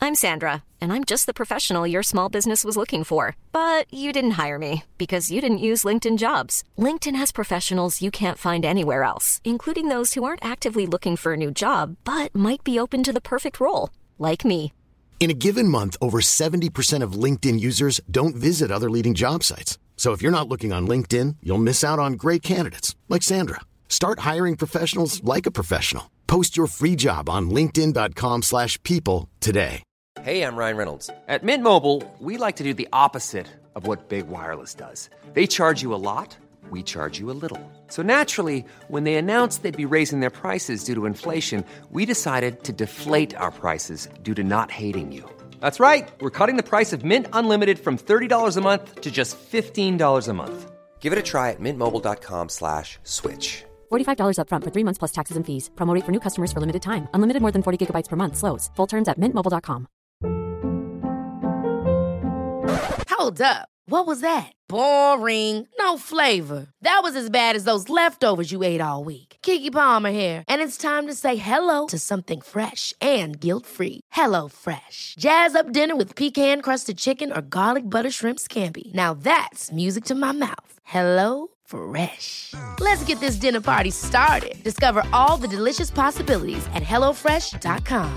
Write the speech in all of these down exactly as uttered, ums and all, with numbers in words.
I'm Sandra, and I'm just the professional your small business was looking for. But you didn't hire me because you didn't use LinkedIn Jobs. LinkedIn has professionals you can't find anywhere else, including those who aren't actively looking for a new job, but might be open to the perfect role, like me. In a given month, over seventy percent of LinkedIn users don't visit other leading job sites. So if you're not looking on LinkedIn, you'll miss out on great candidates like Sandra. Start hiring professionals like a professional. Post your free job on linkedin dot com slash people today. Hey, I'm Ryan Reynolds. At Mint Mobile, we like to do the opposite of what Big Wireless does. They charge you a lot, we charge you a little. So naturally, when they announced they'd be raising their prices due to inflation, we decided to deflate our prices due to not hating you. That's right. We're cutting the price of Mint Unlimited from thirty dollars a month to just fifteen dollars a month. Give it a try at mintmobile.com slash switch. forty-five dollars up front for three months plus taxes and fees. Promo rate for new customers for limited time. Unlimited more than forty gigabytes per month slows. Full terms at mint mobile dot com. Hold up. What was that? Boring. No flavor. That was as bad as those leftovers you ate all week. Keke Palmer here. And it's time to say hello to something fresh and guilt-free. Hello Fresh. Jazz up dinner with pecan-crusted chicken or garlic butter shrimp scampi. Now that's music to my mouth. Hello Fresh. Let's get this dinner party started. Discover all the delicious possibilities at hello fresh dot com.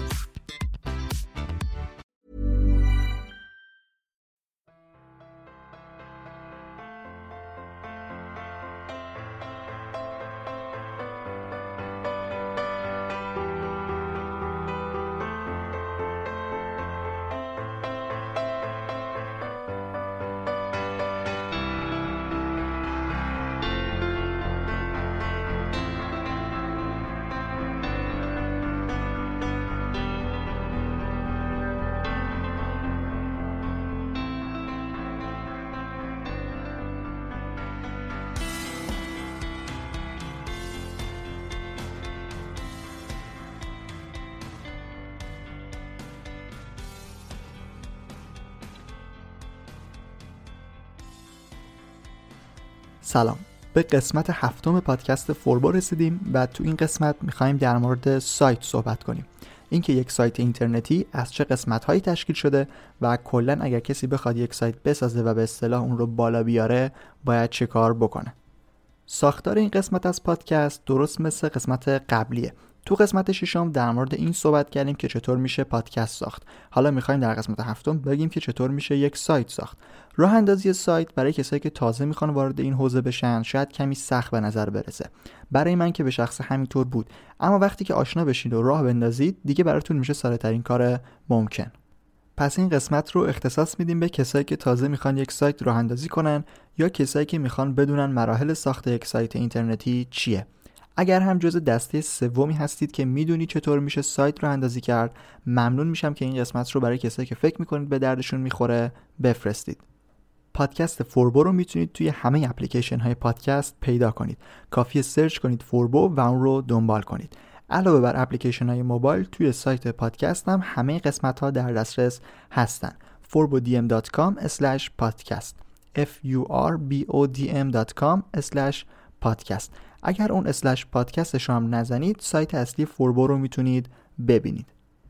سلام، به قسمت هفتم پادکست فوربو رسیدیم و تو این قسمت میخوایم در مورد سایت صحبت کنیم. اینکه یک سایت اینترنتی از چه قسمت‌هایی تشکیل شده و کلاً اگر کسی بخواد یک سایت بسازه و به اصطلاح اون رو بالا بیاره باید چه کار بکنه. ساختار این قسمت از پادکست درست مثل قسمت قبلیه. تو قسمت ششم در مورد این صحبت کردیم که چطور میشه پادکست ساخت. حالا میخوایم در قسمت هفتم بگیم که چطور میشه یک سایت ساخت. راه اندازی سایت برای کسایی که تازه میخوان وارد این حوزه بشن شاید کمی سخت به نظر برسه. برای من که به شخص همینطور بود، اما وقتی که آشنا بشید و راه بندازید دیگه براتون میشه ساده‌ترین کار ممکن. پس این قسمت رو اختصاص میدیم به کسایی که تازه میخوان یک سایت راه اندازی کنن یا کسایی که میخوان بدونن مراحل ساخت یک سایت اینترنتی چیه. اگر هم جزء دسته سومی هستید که میدونی چطور میشه سایت رو اندازی کرد، ممنون میشم که این قسمت رو برای کسایی که فکر میکنید به دردشون میخوره بفرستید. پادکست فوربو رو میتونید توی همه اپلیکیشن های پادکست پیدا کنید. کافیه سرچ کنید فوربو و اون رو دنبال کنید. علاوه بر اپلیکیشن های موبایل توی سایت پادکست هم همه قسمت ها در دسترس هستن. forbodm dot com slash podcast f u r b o d m dot com slash podcast. اگر اون اسلش پادکستش رو هم نزنید سایت اصلی فوربو رو میتونید ببینید.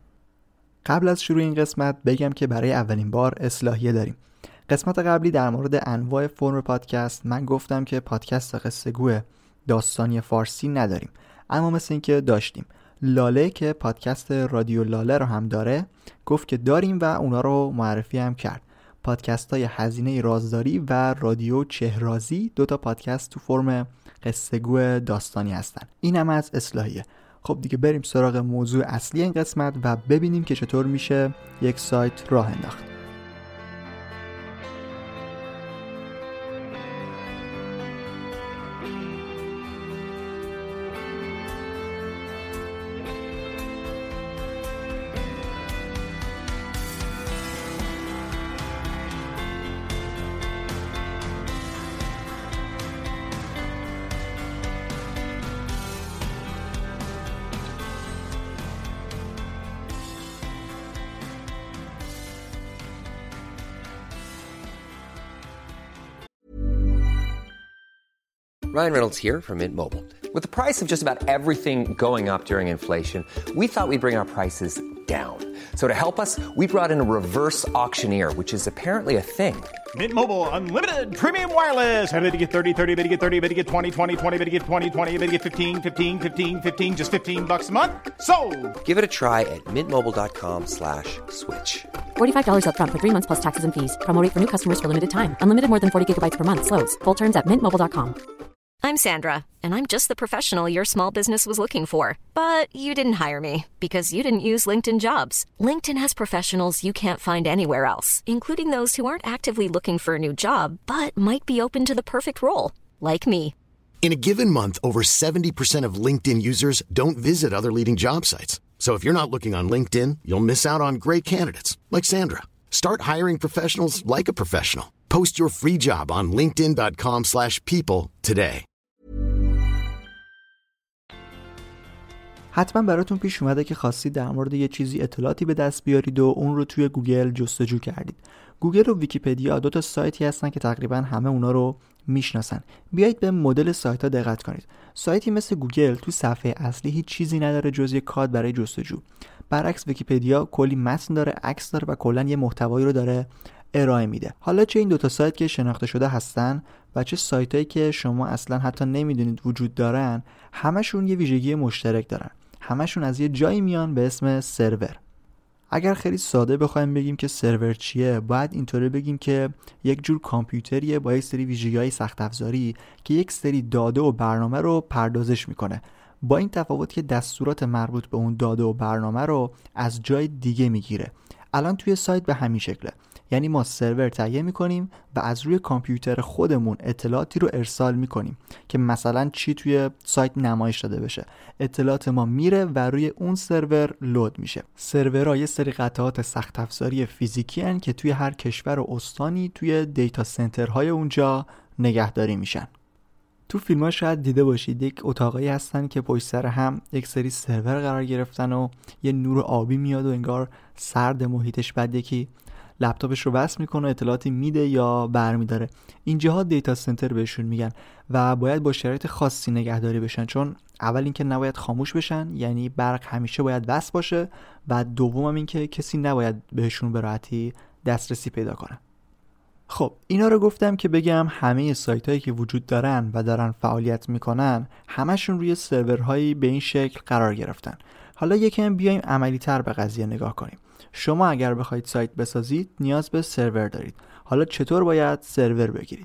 قبل از شروع این قسمت بگم که برای اولین بار اصلاحیه داریم. قسمت قبلی در مورد انواع فرم پادکست من گفتم که پادکست قصه گو داستانی فارسی نداریم، اما مثل این که داشتیم. لاله که پادکست رادیو لاله رو هم داره گفت که داریم و اونا رو معرفی هم کرد. پادکست های هزینه رازداری و رادیو چهرازی دو تا پادکست تو فرم قصه گو داستانی هستن. این هم از اصلاحیه. خب دیگه بریم سراغ موضوع اصلی این قسمت و ببینیم که چطور میشه یک سایت راه انداخت. Ryan Reynolds here from Mint Mobile. With the price of just about everything going up during inflation, we thought we'd bring our prices down. So to help us, we brought in a reverse auctioneer, which is apparently a thing. Mint Mobile Unlimited Premium Wireless. How to get thirty, thirty, how to get thirty, how to get twenty, twenty, twenty, how to get twenty, twenty, how to get fifteen, fifteen, fifteen, fifteen, just fifteen bucks a month? Sold! Give it a try at mintmobile.com slash switch. forty-five dollars up front for three months plus taxes and fees. Promo rate for new customers for limited time. Unlimited more than forty gigabytes per month. Slows full terms at mint mobile dot com. I'm Sandra, and I'm just the professional your small business was looking for. But you didn't hire me because you didn't use LinkedIn Jobs. LinkedIn has professionals you can't find anywhere else, including those who aren't actively looking for a new job, but might be open to the perfect role, like me. In a given month, over seventy percent of LinkedIn users don't visit other leading job sites. So if you're not looking on LinkedIn, you'll miss out on great candidates like Sandra. Start hiring professionals like a professional. Post your free job on linkedin dot com slash people today. حتما براتون پیش اومده که خواستید در مورد یه چیزی اطلاعاتی به دست بیارید و اون رو توی گوگل جستجو کردید. گوگل و ویکی‌پدیا دو تا سایتی هستن که تقریبا همه اونا رو میشناسن. بیایید به مدل سایت ها دقت کنید. سایتی مثل گوگل تو صفحه اصلی هیچ چیزی نداره جز یک کد برای جستجو. برعکس ویکی‌پدیا کلی متن داره، عکس داره و کلا یه محتوایی رو داره ارائه میده. حالا چه این دوتا سایت که شناخته شده هستن و چه سایتایی که شما اصلا حتی نمیدونید وجود دارن، همشون یه ویژگی مشترک دارن. همشون از یه جایی میان به اسم سرور. اگر خیلی ساده بخوایم بگیم که سرور چیه، باید اینطوری بگیم که یک جور کامپیوتریه با یک سری ویژگی‌های سخت افزاری که یک سری داده و برنامه رو پردازش میکنه. با این تفاوت که دستورات مربوط به اون داده و برنامه رو از جای دیگه میگیره. الان توی سایت به همین شکله. یعنی ما سرور تهیه میکنیم و از روی کامپیوتر خودمون اطلاعاتی رو ارسال میکنیم که مثلا چی توی سایت نمایش داده بشه. اطلاعات ما میره و روی اون سرور لود میشه. سرورها یه سری قطعات سخت افزاری فیزیکی هن که توی هر کشور و استانی توی دیتا سنترهای اونجا نگهداری میشن. تو فیلم ها شاید دیده باشید یک اتاقایی هستن که پشت سر هم یک سری سرور قرار گرفتن و یه نور آبی میاد و انگار سرد محیطش، بعد یکی لپتاپش رو وصل میکنه و اطلاعاتی میده یا برمیداره. اینجاها دیتا سنتر بهشون میگن و باید با شرایط خاصی نگهداری بشن، چون اول اینکه نباید خاموش بشن، یعنی برق همیشه باید وصل باشه، و دوم هم اینکه کسی نباید بهشون به راحتی دسترسی پیدا کنه. خب اینا رو گفتم که بگم همه سایت هایی که وجود دارن و دارن فعالیت میکنن همشون روی سرورهایی به این شکل قرار گرفتن. حالا یکم بیایم عملی تر به قضیه نگاه کنیم. شما اگر بخواید سایت بسازید نیاز به سرور دارید. حالا چطور باید سرور بگیرید؟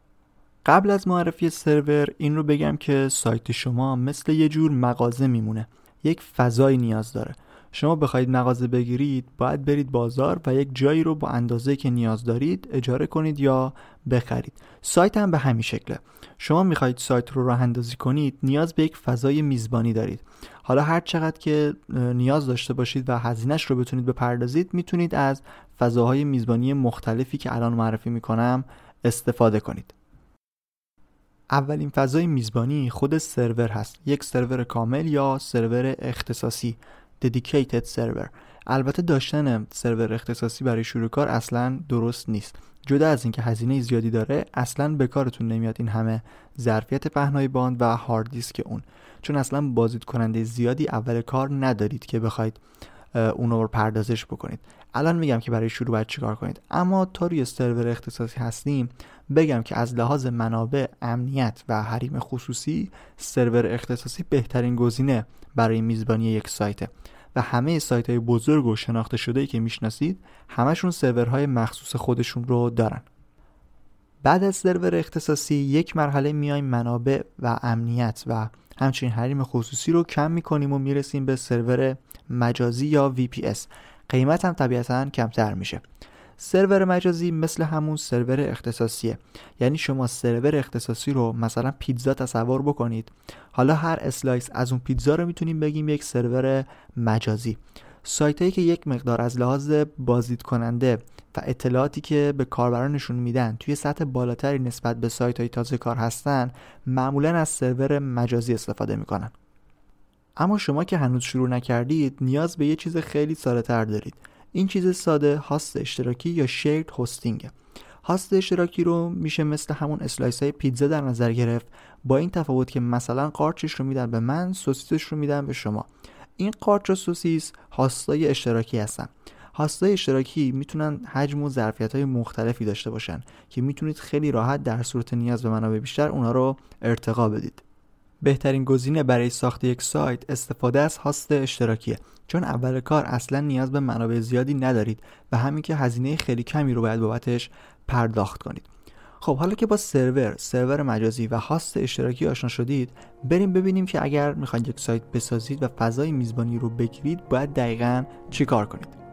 قبل از معرفی سرور این رو بگم که سایت شما مثل یه جور مغازه میمونه. یک فضایی نیاز داره. شما بخواید مغازه بگیرید باید برید بازار و یک جایی رو با اندازه‌ای که نیاز دارید اجاره کنید یا بخرید. سایت هم به همین شکله. شما میخواید سایت رو راه اندازی کنید نیاز به یک فضای میزبانی دارید. حالا هر چقدر که نیاز داشته باشید و هزینه‌اش رو بتونید بپردازید میتونید از فضاهای میزبانی مختلفی که الان معرفی میکنم استفاده کنید. اولین فضای میزبانی خود سرور هست. یک سرور کامل یا سرور اختصاصی dedicated server. البته داشتن سرور اختصاصی برای شروع کار اصلا درست نیست. جدا از اینکه هزینه زیادی داره، اصلا به کارتون نمیاد این همه ظرفیت پهنای باند و هارد دیسک اون، چون اصلا بازدید کننده زیادی اول کار ندارید که بخواید اونو رو پردازش بکنید. الان میگم که برای شروع باید چیکار کنید، اما تا روی سرور اختصاصی هستیم بگم که از لحاظ منابع، امنیت و حریم خصوصی سرور اختصاصی بهترین گزینه برای میزبانی یک سایته و همه سایت های بزرگ و شناخته شده‌ای که میشناسید همشون سرورهای مخصوص خودشون رو دارن. بعد از سرور اختصاصی یک مرحله میایم منابع و امنیت و همچنین حریم خصوصی رو کم میکنیم و میرسیم به سرور مجازی یا وی پی اس. قیمت هم طبیعتاً کمتر میشه. سرور مجازی مثل همون سرور اختصاصیه. یعنی شما سرور اختصاصی رو مثلا پیتزا تصور بکنید. حالا هر اسلایس از اون پیتزا رو میتونیم بگیم یک سرور مجازی. سایتایی که یک مقدار از لحاظ بازدید کننده و اطلاعاتی که به کاربرانشون میدن توی سطح بالاتری نسبت به سایت‌های تازه کار هستن، معمولاً از سرور مجازی استفاده میکنن. اما شما که هنوز شروع نکردید نیاز به یه چیز خیلی ساده‌تر دارید. این چیز ساده هاست اشتراکی یا شیرد هاستینگ. هاست اشتراکی رو میشه مثل همون اسلایس های پیتزا در نظر گرفت، با این تفاوت که مثلا قارچش رو میدن به من، سوسیسش رو میدن به شما. این قارچ و سوسیس هاست‌های اشتراکی هستن. هاست‌های اشتراکی میتونن حجم و ظرفیت‌های مختلفی داشته باشن که میتونید خیلی راحت در صورت نیاز به منابع بیشتر اونها رو ارتقا بدید. بهترین گزینه برای ساخت یک سایت استفاده از هاست اشتراکیه، چون اول کار اصلا نیاز به منابع زیادی ندارید و همین که هزینه خیلی کمی رو باید بابتش پرداخت کنید. خب حالا که با سرور، سرور مجازی و هاست اشتراکی آشنا شدید، بریم ببینیم که اگر میخواید یک سایت بسازید و فضای میزبانی رو بگیرید باید دقیقاً چی کار کنید.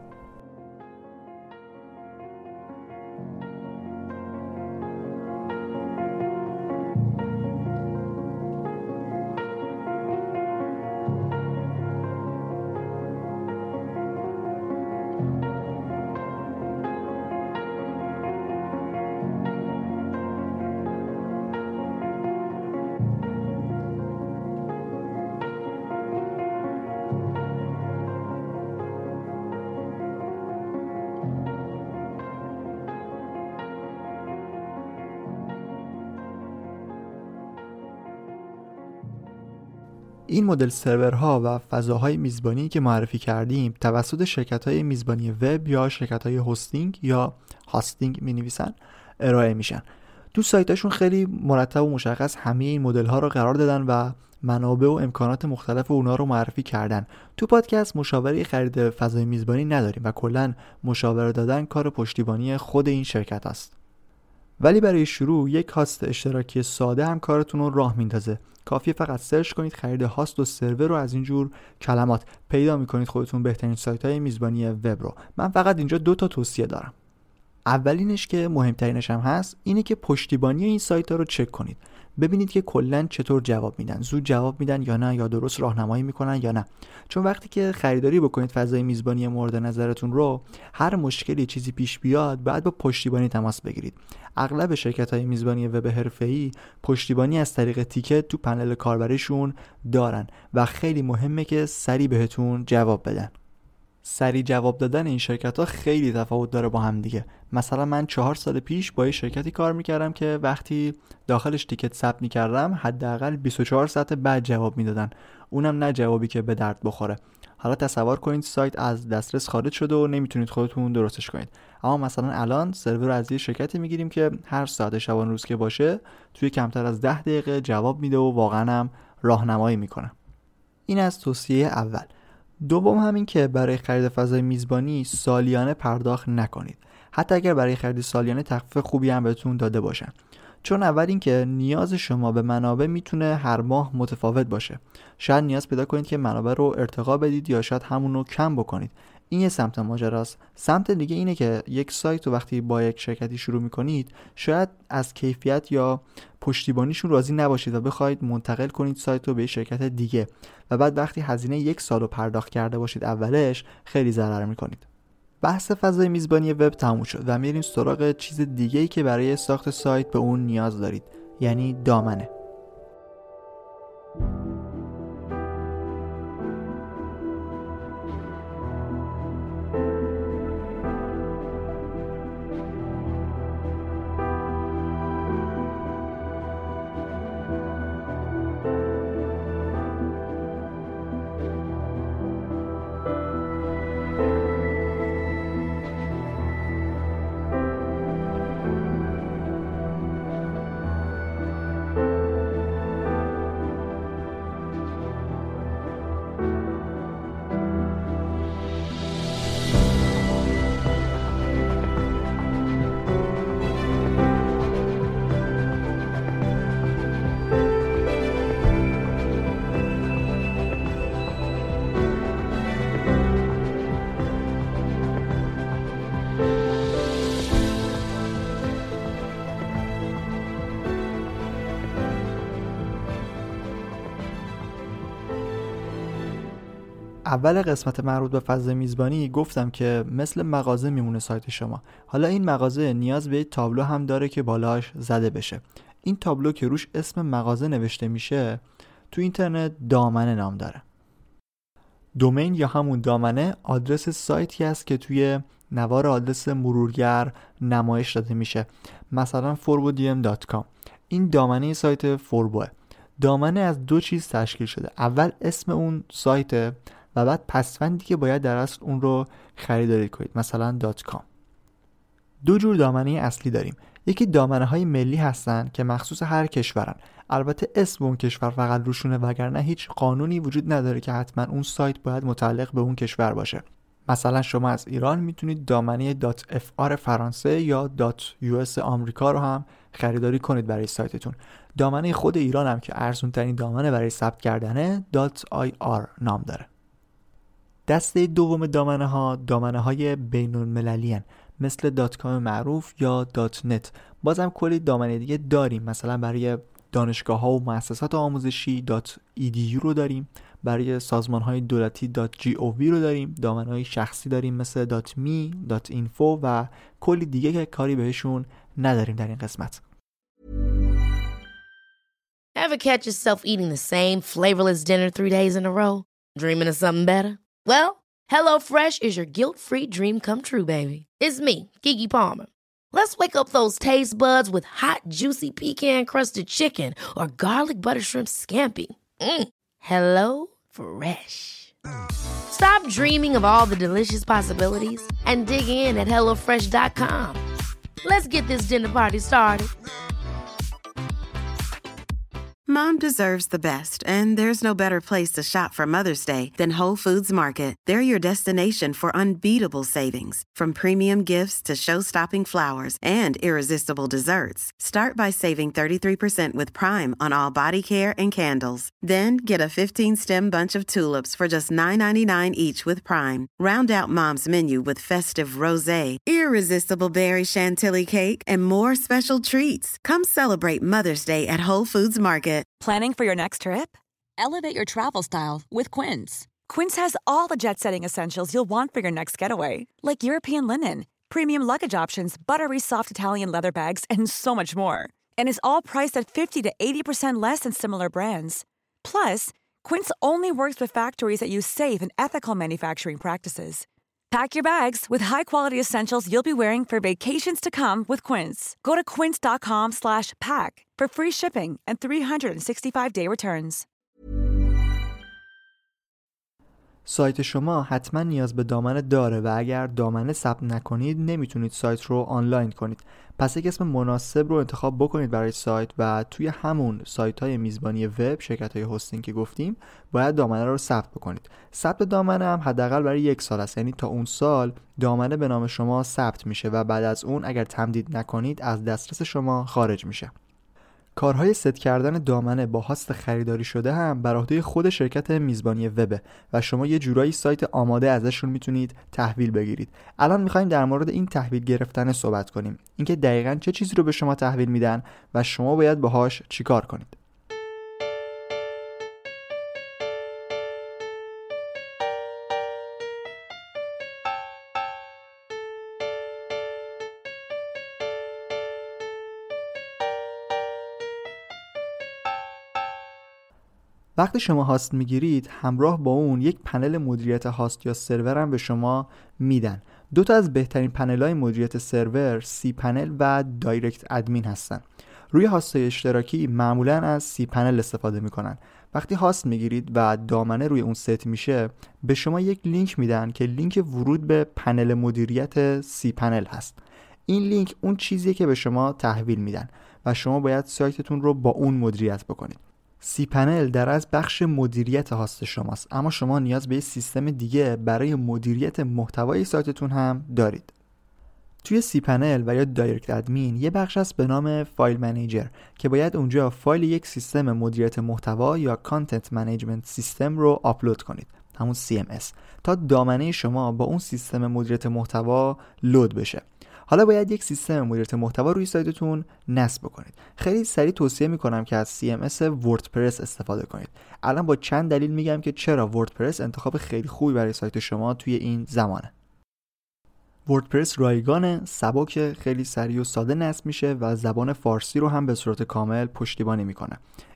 این مدل سرورها و فضاهای میزبانی که معرفی کردیم توسط شرکت‌های میزبانی وب یا شرکت‌های هاستینگ یا هاستینگ می‌نویسن ارائه میشن. تو سایتاشون خیلی مرتب و مشخص همه این مدل‌ها رو قرار دادن و منابع و امکانات مختلف اونا رو معرفی کردن. تو پادکست مشاوره خرید فضای میزبانی نداریم و کلاً مشاوره دادن کار پشتیبانی خود این شرکت است. ولی برای شروع یک هاست اشتراکی ساده هم کارتون رو راه میندازه. کافیه فقط سرچ کنید خرید هاست و سرور رو، از اینجور کلمات پیدا میکنید خودتون بهترین سایت های میزبانی وب رو. من فقط اینجا دو تا توصیه دارم. اولینش که مهمترینش هم هست اینه که پشتیبانی این سایت ها رو چک کنید. ببینید که کلاً چطور جواب میدن، زود جواب میدن یا نه، یا درست راهنمایی میکنن یا نه. چون وقتی که خریداری بکنید فضای میزبانی مورد نظرتون رو، هر مشکلی چیزی پیش بیاد بعد با پشتیبانی تماس بگیرید. اغلب شرکت‌های میزبانی وب حرفه‌ای پشتیبانی از طریق تیکت تو پنل کاربریشون دارن و خیلی مهمه که سریع بهتون جواب بدن. سریع جواب دادن این شرکت‌ها خیلی تفاوت داره با هم دیگه. مثلا من چهار سال پیش با یه شرکتی کار میکردم که وقتی داخلش تیکت ثبت میکردم حداقل بیست و چهار ساعت بعد جواب میدادن، اونم نه جوابی که به درد بخوره. حالا تصور کنید سایت از دسترس خارج شده و نمیتونید خودتون درستش کنید. اما مثلا الان سرور از یه شرکتی میگیریم که هر ساعت شبانه روز که باشه توی کمتر از ده دقیقه جواب میده و واقعا هم راهنمایی میکنه. این از توصیه اول. دوم همین که برای خرید فضای میزبانی سالیانه پرداخت نکنید، حتی اگر برای خرید سالیانه تخفیف خوبی هم بهتون داده باشن. چون اول این که نیاز شما به منابع میتونه هر ماه متفاوت باشه. شاید نیاز پیدا کنید که منابع رو ارتقا بدید یا شاید همون رو کم بکنید. این یه سمت ماجراست. سمت دیگه اینه که یک سایت رو وقتی با یک شرکتی شروع میکنید شاید از کیفیت یا پشتیبانیشون راضی نباشید و بخواید منتقل کنید سایت رو به شرکت دیگه و بعد وقتی هزینه یک سال رو پرداخت کرده باشید اولش خیلی ضرر میکنید. بحث فضای میزبانی وب تموم شد و میریم سراغ چیز دیگه‌ای که برای ساخت سایت به اون نیاز دارید، یعنی دامنه. اول قسمت مربوط به فضای میزبانی گفتم که مثل مغازه میمونه سایت شما. حالا این مغازه نیاز به تابلو هم داره که بالاش زده بشه. این تابلو که روش اسم مغازه نوشته میشه تو اینترنت دامنه نام داره. دومین یا همون دامنه آدرس سایتی است که توی نوار آدرس مرورگر نمایش داده میشه، مثلا فوربو دی ام دات کام. این دامنه سایت فوربوه. دامنه از دو چیز تشکیل شده. اول اسم اون سایت، و بعد پسوندی که باید در اصل اون رو خریداری کنید، مثلا .com. دو جور دامنه اصلی داریم. یکی دامنه های ملی هستن که مخصوص هر کشورن. البته اسم اون کشور فقط روشونه، وگرنه هیچ قانونی وجود نداره که حتما اون سایت باید متعلق به اون کشور باشه. مثلا شما از ایران میتونید دامنه .fr فرانسه یا .us آمریکا رو هم خریداری کنید برای سایتتون. دامنه خود ایران هم که ارزون ترین دامنه برای ثبت کردنه .ir نام داره. دسته دوم دامنه ها دامنه های بین المللی هن، مثل .com معروف یا .net. بازم کلی دامنه دیگه داریم، مثلا برای دانشگاه ها و مؤسسات آموزشی .edu رو داریم، برای سازمان های دولتی .gov رو داریم، دامنه های شخصی داریم مثل .me، .info و کلی دیگه که کاری بهشون نداریم در این قسمت. Ever catch yourself eating the same flavorless dinner three days in a row? Dreaming of something better? Well, HelloFresh is your guilt-free dream come true, baby. It's me, Keke Palmer. Let's wake up those taste buds with hot, juicy pecan-crusted chicken or garlic butter shrimp scampi. Mm. Hello Fresh. Stop dreaming of all the delicious possibilities and dig in at hello fresh dot com. Let's get this dinner party started. Mom deserves the best, and there's no better place to shop for Mother's Day than Whole Foods Market. They're your destination for unbeatable savings, from premium gifts to show-stopping flowers and irresistible desserts. Start by saving thirty-three percent with Prime on all body care and candles. Then get a fifteen-stem bunch of tulips for just nine ninety-nine each with Prime. Round out Mom's menu with festive rosé, irresistible berry chantilly cake, and more special treats. Come celebrate Mother's Day at Whole Foods Market. Planning for your next trip? Elevate your travel style with Quince. Quince has all the jet-setting essentials you'll want for your next getaway, like European linen, premium luggage options, buttery soft Italian leather bags, and so much more. And is all priced at fifty to eighty percent less than similar brands. Plus, Quince only works with factories that use safe and ethical manufacturing practices. Pack your bags with high-quality essentials you'll be wearing for vacations to come with Quince. Go to quince dot com slash pack for free shipping and three sixty-five day returns. سایت شما حتما نیاز به دامنه داره و اگر دامنه ثبت نکنید نمیتونید سایت رو آنلاین کنید. پس یک اسم مناسب رو انتخاب بکنید برای سایت و توی همون سایت های میزبانی وب، شرکت های هاستینگ که گفتیم، باید دامنه رو ثبت بکنید. ثبت دامنه هم حداقل برای یک سال است، یعنی تا اون سال دامنه به نام شما ثبت میشه و بعد از اون اگر تمدید نکنید از دسترس شما خارج میشه. کارهای ست کردن دامنه با هاست خریداری شده هم بر عهده خود شرکت میزبانی وب و شما یه جورایی سایت آماده ازشون میتونید تحویل بگیرید. الان میخوایم در مورد این تحویل گرفتن صحبت کنیم، اینکه دقیقاً چه چیزی رو به شما تحویل میدن و شما باید باهاش چیکار کنید. وقتی شما هاست میگیرید همراه با اون یک پنل مدیریت هاست یا سرور هم به شما میدن. دو تا از بهترین پنل‌های مدیریت سرور سی پنل و دایرکت ادمین هستن. روی هاست‌های اشتراکی معمولاً از سی پنل استفاده میکنن. وقتی هاست میگیرید و دامنه روی اون ست میشه به شما یک لینک میدن که لینک ورود به پنل مدیریت سی پنل هست. این لینک اون چیزیه که به شما تحویل میدن و شما باید سایتتون رو با اون مدیریت بکنید. سی پنل در از بخش مدیریت هاست شماست، اما شما نیاز به سیستم دیگه برای مدیریت محتوای سایتتون هم دارید. توی سی پنل و یا دایرکت ادمین یه بخش هست به نام فایل منیجر که باید اونجا فایل یک سیستم مدیریت محتوا یا کانتنت منیجمنت سیستم رو آپلود کنید، همون سی ام اس، تا دامنه شما با اون سیستم مدیریت محتوا لود بشه. حالا باید یک سیستم مدیریت محتوا روی سایتتون نصب کنید. خیلی سریع توصیه میکنم که از سی ام اس وردپرس استفاده کنید. الان با چند دلیل میگم که چرا وردپرس انتخاب خیلی خوبی برای سایت شما توی این زمانه. وردپرس رایگان، سبک، خیلی سریع و ساده نصب میشه و زبان فارسی رو هم به صورت کامل پشتیبانی میکنه.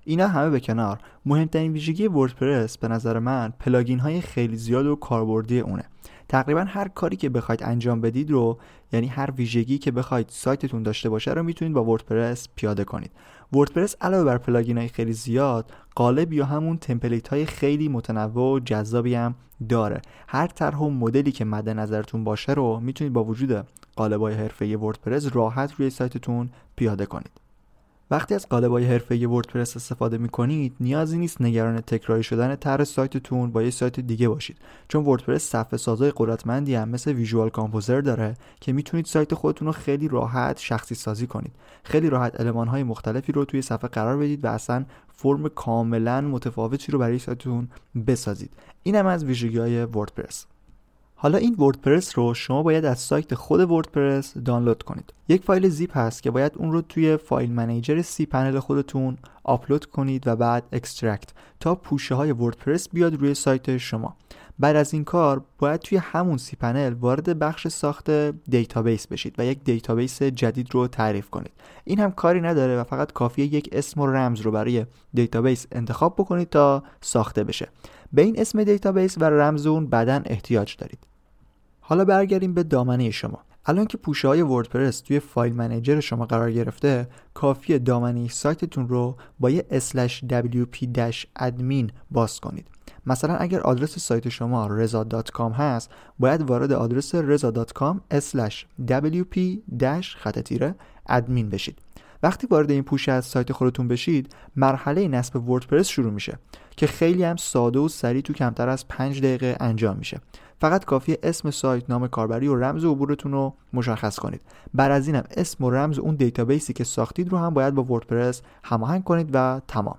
اینا همه به کنار، مهمترین ویژگی وردپرس به نظر من پلاگین های خیلی زیاد و کاربردی اونه. تقریبا هر کاری که بخواید انجام بدید رو، یعنی هر ویژگی که بخواید سایتتون داشته باشه رو میتونید با وردپرس پیاده کنید. وردپرس علاوه بر پلاگین های خیلی زیاد، قالب یا همون تمپلیت های خیلی متنوع و جذابی هم داره. هر طرح و مدلی که مد نظرتون باشه رو میتونید با وجود قالب‌های حرفه‌ای وردپرس راحت روی سایتتون پیاده کنید. وقتی از قالب‌های حرفه‌ای وردپرس استفاده می‌کنید، نیازی نیست نگران تکراری شدن طرح سایتتون با یه سایت دیگه باشید، چون وردپرس صفحه سازای قدرتمندی هم مثل ویژوال کامپوزر داره که میتونید سایت خودتون رو خیلی راحت شخصی سازی کنید. خیلی راحت المان‌های مختلفی رو توی صفحه قرار بدید و اصلا فرم کاملاً متفاوتی رو برای سایتتون بسازید. این هم از ویژگی‌های وردپرس. حالا این وردپرس رو شما باید از سایت خود وردپرس دانلود کنید. یک فایل زیپ هست که باید اون رو توی فایل منیجر سی پنل خودتون آپلود کنید و بعد اکسترکت تا پوشه های وردپرس بیاد روی سایت شما. بعد از این کار باید توی همون سی پنل وارد بخش ساخت دیتابیس بشید و یک دیتابیس جدید رو تعریف کنید. این هم کاری نداره و فقط کافیه یک اسم و رمز رو برای دیتابیس انتخاب بکنید تا ساخته بشه. به این اسم دیتابیس و رمز اون بعداً احتیاج دارید. حالا برگردیم به دامنه شما. الان که پوشه های وردپرس توی فایل منیجر شما قرار گرفته، کافیه دامنه سایتتون رو با یه اسلش دبلیو پی ادمین باز کنید. مثلا اگر آدرس سایت شما رضا دات کام هست، باید وارد آدرس رضا دات کام اسلش دبلیو پی خط تیره ادمین بشید. وقتی وارد این پوشه از سایت خودتون بشید، مرحله نصب وردپرس شروع میشه که خیلی هم ساده و سریع تو کمتر از پنج دقیقه انجام میشه. فقط کافیه اسم سایت، نام کاربری و رمز عبورتون رو مشخص کنید. بعد از اینم اسم و رمز اون دیتابیسی که ساختید رو هم باید با وردپرس هماهنگ کنید و تمام.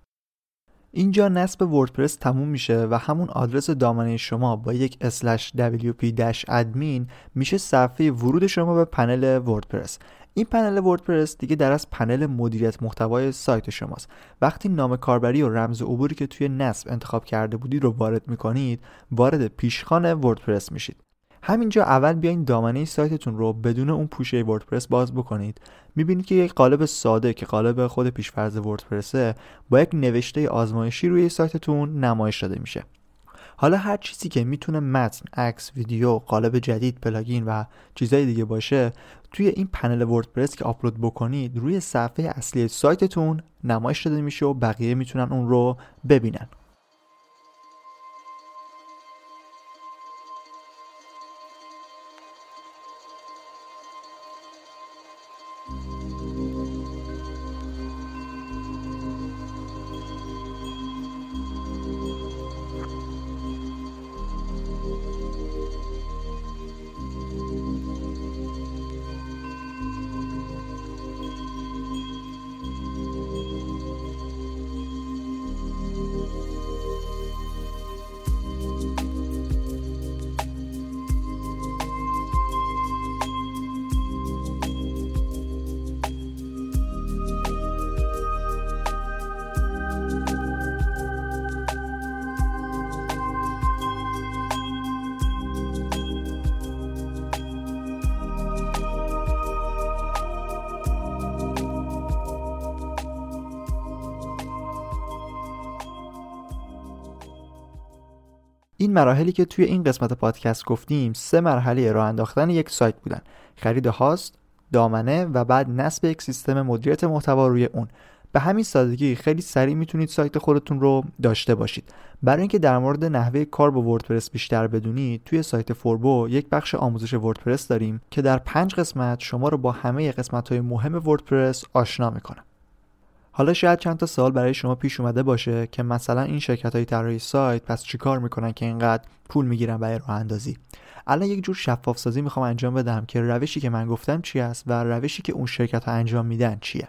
اینجا نصب وردپرس تموم میشه و همون آدرس دامنه شما با یک اسلش دبلیو پی ادمین میشه صفحه ورود شما به پنل وردپرس. این پنل وردپرس دیگه در از پنل مدیریت محتوای سایت شماست. وقتی نام کاربری و رمز عبوری که توی نصب انتخاب کرده بودید رو وارد میکنید، وارد پیشخوان وردپرس میشید. همینجا اول بیاین دامنه سایتتون رو بدون اون پوشه وردپرس باز بکنید. میبینید که یک قالب ساده که قالب خود پیشفرض وردپرسه با یک نوشته آزمایشی روی سایتتون نمایش داده میشه. حالا هر چیزی که میتونه متن، عکس، ویدیو، قالب جدید، پلاگین و چیزای دیگه باشه، توی این پنل وردپرس که آپلود بکنید روی صفحه اصلی سایتتون نمایش داده میشه و بقیه میتونن اون رو ببینن. این مراحلی که توی این قسمت پادکست گفتیم سه مرحله راه انداختن یک سایت بودن: خرید هاست، دامنه و بعد نصب یک سیستم مدیریت محتوا روی اون. به همین سادگی خیلی سریع میتونید سایت خودتون رو داشته باشید. برای اینکه در مورد نحوه کار با وردپرس بیشتر بدونید، توی سایت فوربو یک بخش آموزش وردپرس داریم که در پنج قسمت شما رو با همه قسمت‌های مهم وردپرس آشنا میکنه. حالا شاید چند تا سوال برای شما پیش اومده باشه که مثلا این شرکت‌های طراحی سایت پس چیکار میکنن که اینقدر پول میگیرن برای راه اندازی؟ الان یک جور شفاف سازی میخوام انجام بدم که روشی که من گفتم چی است و روشی که اون شرکت‌ها انجام میدن چیه.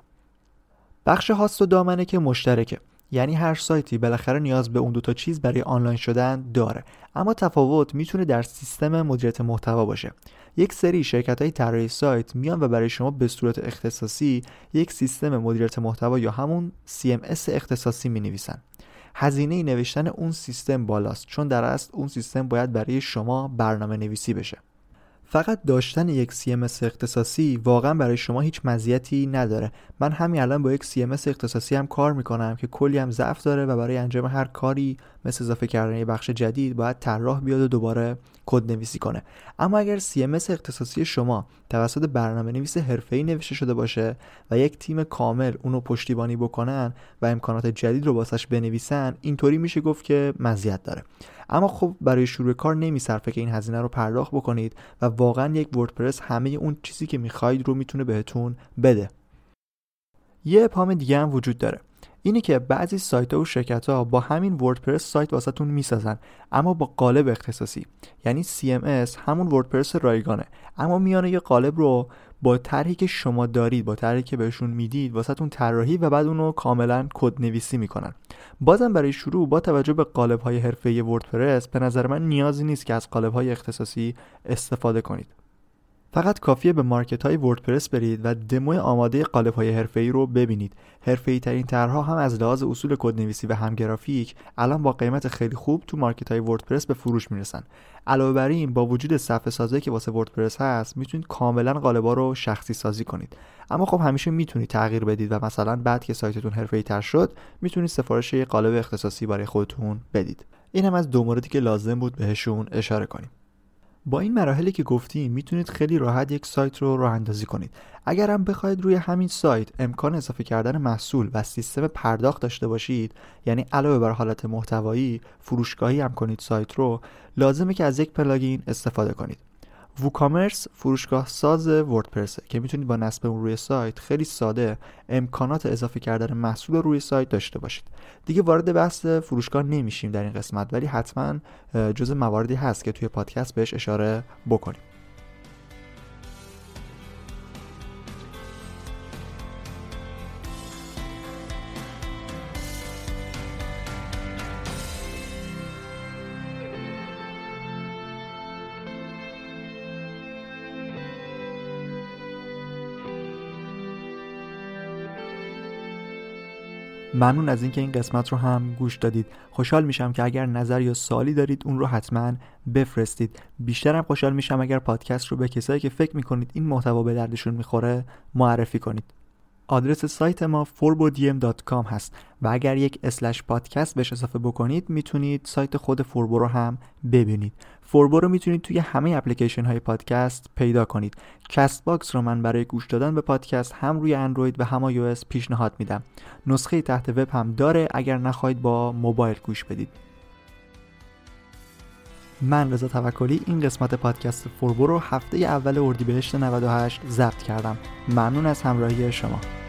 بخش هاست و دامنه که مشترکه، یعنی هر سایتی بالاخره نیاز به اون دو تا چیز برای آنلاین شدن داره، اما تفاوت میتونه در سیستم مدیریت محتوا باشه. یک سری شرکت‌های طراحی سایت میان و برای شما به صورت اختصاصی یک سیستم مدیریت محتوا یا همون سی ام اس اختصاصی می‌نویسن. هزینه نوشتن اون سیستم بالاست، چون در اصل اون سیستم باید برای شما برنامه نویسی بشه. فقط داشتن یک سی ام اس اختصاصی واقعا برای شما هیچ مزیتی نداره. من همین الان با یک سی ام اس اختصاصی هم کار میکنم که کلی هم ضعف داره و برای انجام هر کاری مثل اضافه کردن یه بخش جدید باید طراح بیاد و دوباره کد نویسی کنه. اما اگر سی ام اس اختصاصی شما توسط برنامه‌نویس حرفه‌ای نوشته شده باشه و یک تیم کامل اونو پشتیبانی بکنن و امکانات جدید رو واسش بنویسن، اینطوری میشه گفت که مزیت داره. اما خب برای شروع کار نمیصرفه که این هزینه رو پرداخت بکنید و واقعا یک وردپرس همه اون چیزی که میخواید رو میتونه بهتون بده. یه ابهام دیگه هم وجود داره، اینی که بعضی سایت‌ها و شرکت‌ها با همین وردپرس سایت واسهتون میسازن اما با قالب اختصاصی، یعنی سی ام اس همون وردپرس رایگانه اما میانه یه قالب رو با طرحی که شما دارید، با طرحی که بهشون میدید واسهتون طراحی و بعد اونو کاملا کد نویسی میکنن. بازم برای شروع با توجه به قالب‌های حرفه‌ای وردپرس به نظر من نیازی نیست که از قالب‌های اختصاصی استفاده کنید. فقط کافیه به مارکت‌های وردپرس برید و دمو آماده قالب‌های حرفه‌ای رو ببینید. حرفه‌ای‌ترین طرح‌ها هم از لحاظ اصول کدنویسی و هم گرافیک الان با قیمت خیلی خوب تو مارکت‌های وردپرس به فروش میرسن. علاوه بر این با وجود صفحه سازی که واسه وردپرس هست میتونید کاملا قالب‌ها رو شخصی سازی کنید. اما خب همیشه میتونید تغییر بدید و مثلا بعد که سایتتون حرفه‌ای‌تر شد میتونید سفارش یه قالب اختصاصی برای خودتون بدید. این هم از دو موردی که لازم بود بهشون اشاره کنیم. با این مراحلی که گفتیم میتونید خیلی راحت یک سایت رو راه اندازی کنید. اگر هم بخواید روی همین سایت امکان اضافه کردن محصول و سیستم پرداخت داشته باشید، یعنی علاوه بر حالت محتوایی فروشگاهی هم کنید سایت رو، لازمه که از یک پلاگین استفاده کنید. ووکامرس فروشگاه ساز وردپرسه که میتونید با نصب اون روی سایت خیلی ساده امکانات اضافه کردن محصول روی سایت داشته باشید. دیگه وارد بحث فروشگاه نمیشیم در این قسمت، ولی حتما جزء مواردی هست که توی پادکست بهش اشاره بکنیم. ممنون از اینکه این قسمت رو هم گوش دادید. خوشحال میشم که اگر نظر یا سوالی دارید اون رو حتما بفرستید. بیشترم خوشحال میشم اگر پادکست رو به کسایی که فکر میکنید این محتوا به دردشون میخوره معرفی کنید. آدرس سایت ما فوربودیم دات کام هست و اگر یک اسلش پادکست بهش اضافه بکنید میتونید سایت خود فوربو رو هم ببینید. فوربو رو میتونید توی همه اپلیکیشن های پادکست پیدا کنید. کست باکس رو من برای گوش دادن به پادکست هم روی اندروید و هم آی او اس پیشنهاد میدم. نسخه تحت وب هم داره اگر نخواهید با موبایل گوش بدید. من رضا توکلی این قسمت پادکست فوربو رو هفته اول اردیبهشت نود و هشت ضبط کردم. ممنون از همراهی شما.